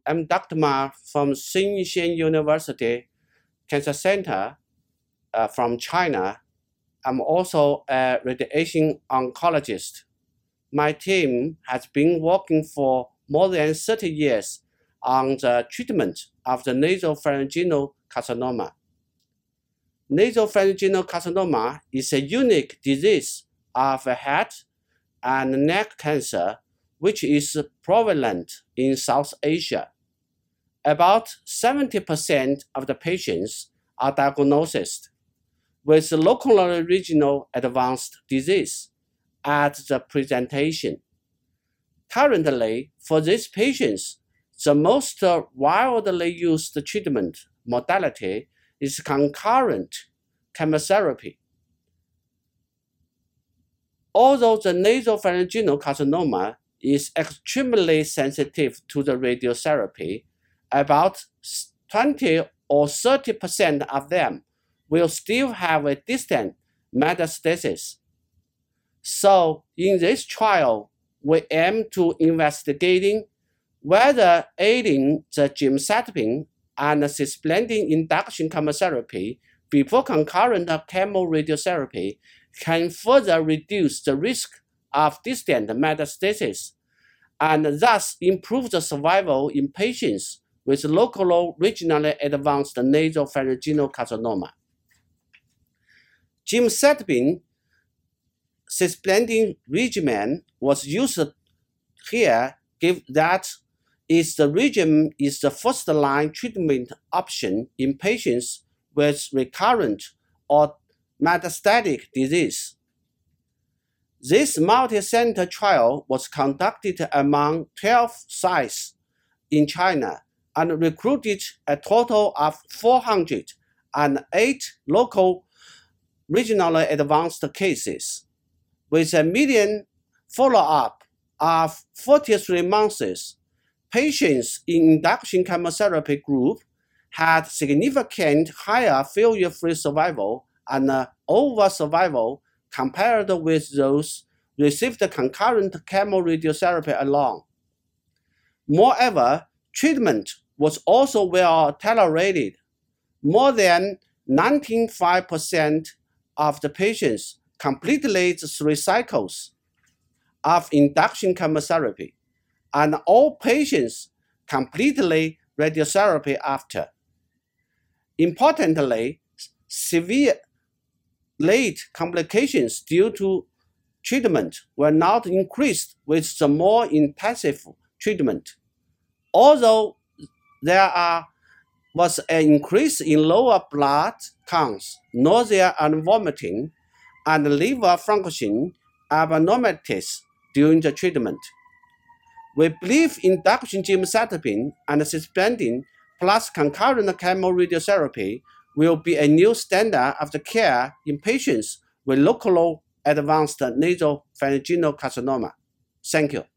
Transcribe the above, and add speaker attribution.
Speaker 1: I'm Dr. Ma from Xinyuan University Cancer Center from China. I'm also a radiation oncologist. My team has been working for more than 30 years on the treatment of the nasopharyngeal carcinoma. Nasopharyngeal carcinoma is a unique disease of head and neck cancer which is prevalent in South Asia. About 70% of the patients are diagnosed with locally regional advanced disease at the presentation. Currently, for these patients, the most widely used treatment modality is concurrent chemotherapy. Although the nasopharyngeal carcinoma is extremely sensitive to the radiotherapy, about 20 or 30% of them will still have a distant metastasis. So in this trial, we aim to investigating whether adding the gemcitabine and cisplatin induction chemotherapy before concurrent chemoradiotherapy can further reduce the risk of distant metastasis and thus improve the survival in patients with local regionally advanced nasopharyngeal carcinoma. Gemcitabine cisplatin regimen was used here, given that the regimen is the first-line treatment option in patients with recurrent or metastatic disease. This multi-center trial was conducted among 12 sites in China and recruited a total of 408 local regionally advanced cases. With a median follow-up of 43 months, patients in induction chemotherapy group had significant higher failure-free survival and overall survival compared with those received concurrent chemoradiotherapy alone. Moreover, treatment was also well tolerated. More than 95% of the patients completed 3 cycles of induction chemotherapy, and all patients completed radiotherapy after. Importantly, severe late complications due to treatment were not increased with the more intensive treatment. Although there was an increase in lower blood counts, nausea and vomiting, and liver function abnormalities during the treatment. We believe induction gemcitabine and cisplatin plus concurrent chemoradiotherapy will be a new standard of the care in patients with local advanced nasopharyngeal carcinoma. Thank you.